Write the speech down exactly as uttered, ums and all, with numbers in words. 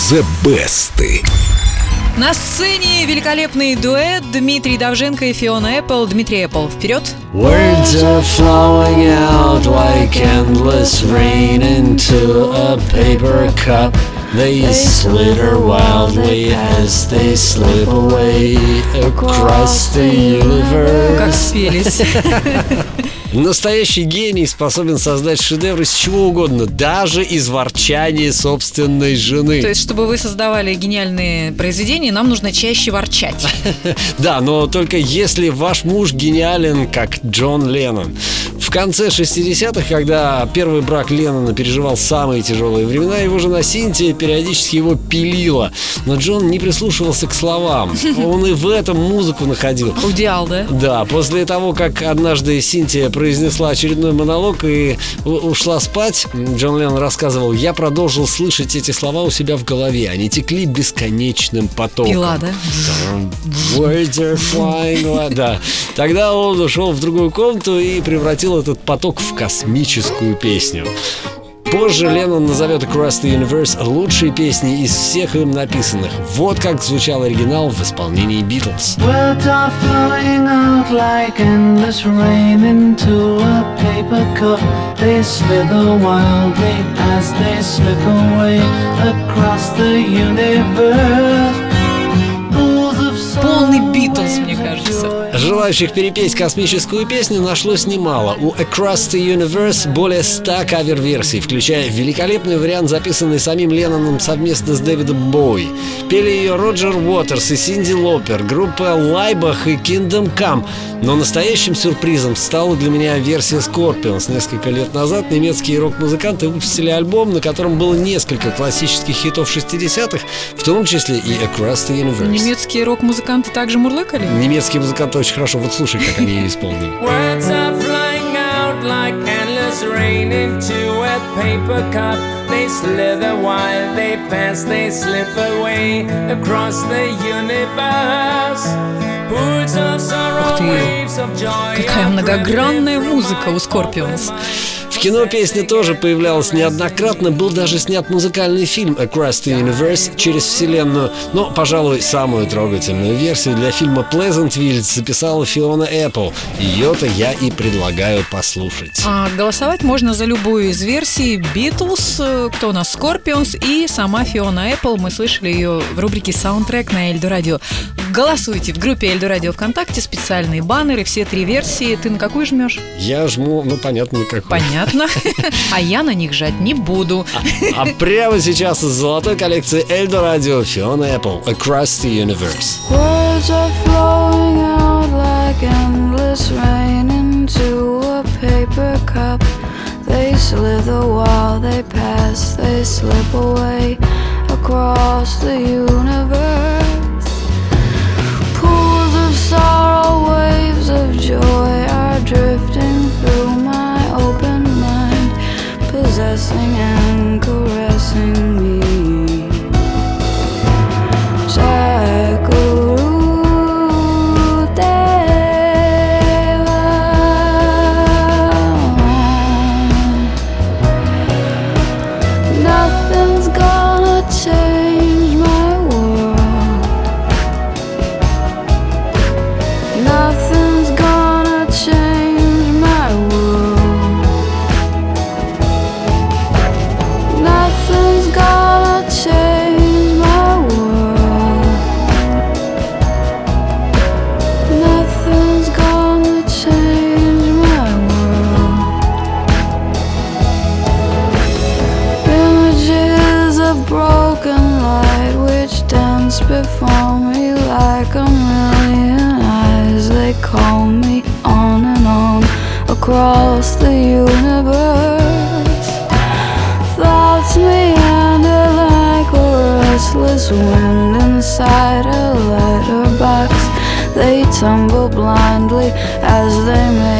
The Best. На сцене великолепный дуэт Дмитрий Довженко и Фиона Apple. Дмитрий Apple, вперед! Words are flowing out like endless rain into a paper cup. They slither wildly as they slip away across the universe. Как спелись. Настоящий гений способен создать шедевр из чего угодно, даже из ворчания собственной жены. То есть, чтобы вы создавали гениальные произведения, нам нужно чаще ворчать. Да, но только если ваш муж гениален, как Джон Леннон. В конце шестидесятых, когда первый брак Леннона переживал самые тяжелые времена, его жена Синтия периодически его пилила. Но Джон не прислушивался к словам. Он и в этом музыку находил. Аудиал, да? Да, после того, как однажды Синтия произнесла очередной монолог и ушла спать, Джон Леннон рассказывал: я продолжил слышать эти слова у себя в голове. Они текли бесконечным потоком. Пила, да? Words are flying. Да. Тогда он ушел в другую комнату и превратил этот поток в космическую песню. Позже Леннон назовет Across the Universe лучшей песней из всех им написанных. Вот как звучал оригинал в исполнении Beatles. Words are flowing out like endless rain into a paper cup. They slither wildly as they slip away across the universe. Полный Beatles, мне кажется. Желающих перепеть космическую песню нашлось немало. У Across the Universe более ста кавер-версий, включая великолепный вариант, записанный самим Ленноном совместно с Дэвидом Боуи. Пели ее Роджер Уотерс и Синди Лопер, группа Лайбах и Kingdom Come. Но настоящим сюрпризом стала для меня версия Scorpions. Несколько лет назад немецкие рок-музыканты выпустили альбом, на котором было несколько классических хитов шестидесятых, в том числе и Across the Universe. Немецкие рок-музыканты также мурлыкали? Немецкие музыканты очень хорошо. Вот слушай, как они ее исполнили. Words are flying out like endless rain into a paper cup. They slither while they pass, they slip away across the universe. Pools of sorrow, waves of joy. Какая многогранная музыка у Scorpions. В кино песня тоже появлялась неоднократно. Был даже снят музыкальный фильм Across the Universe, через вселенную. Но, пожалуй, самую трогательную версию для фильма Pleasantville записала Фиона Apple. Ее-то я и предлагаю послушать. А голосовать можно за любую из версий Beatles, кто у нас Scorpions и сама Фиона Apple. Мы слышали ее в рубрике «Саундтрек» на Эльдо Радио. Голосуйте в группе Эльдо Радио ВКонтакте, специальные баннеры, все три версии. Ты на какую жмешь? Я жму, ну понятно, на какую. Понятно. А я на них жать не буду. А, а прямо сейчас из золотой коллекции Эльдо Радио Фиона Apple Across the Universe. Words are flowing out like endless rain into a paper cup. They slither while they pass, they slip away across the universe. Pools of sorrow, waves of joy are drifting through my open mind, possessing and caressing me. Nothing's gonna change my world. Nothing's gonna change my world. Nothing's gonna change my world. Nothing's gonna change my world. Images of broken light which dance before me like a million eyes. They call me on and on across the universe. Thoughts meander like a restless wind inside a letterbox. They tumble blindly as they make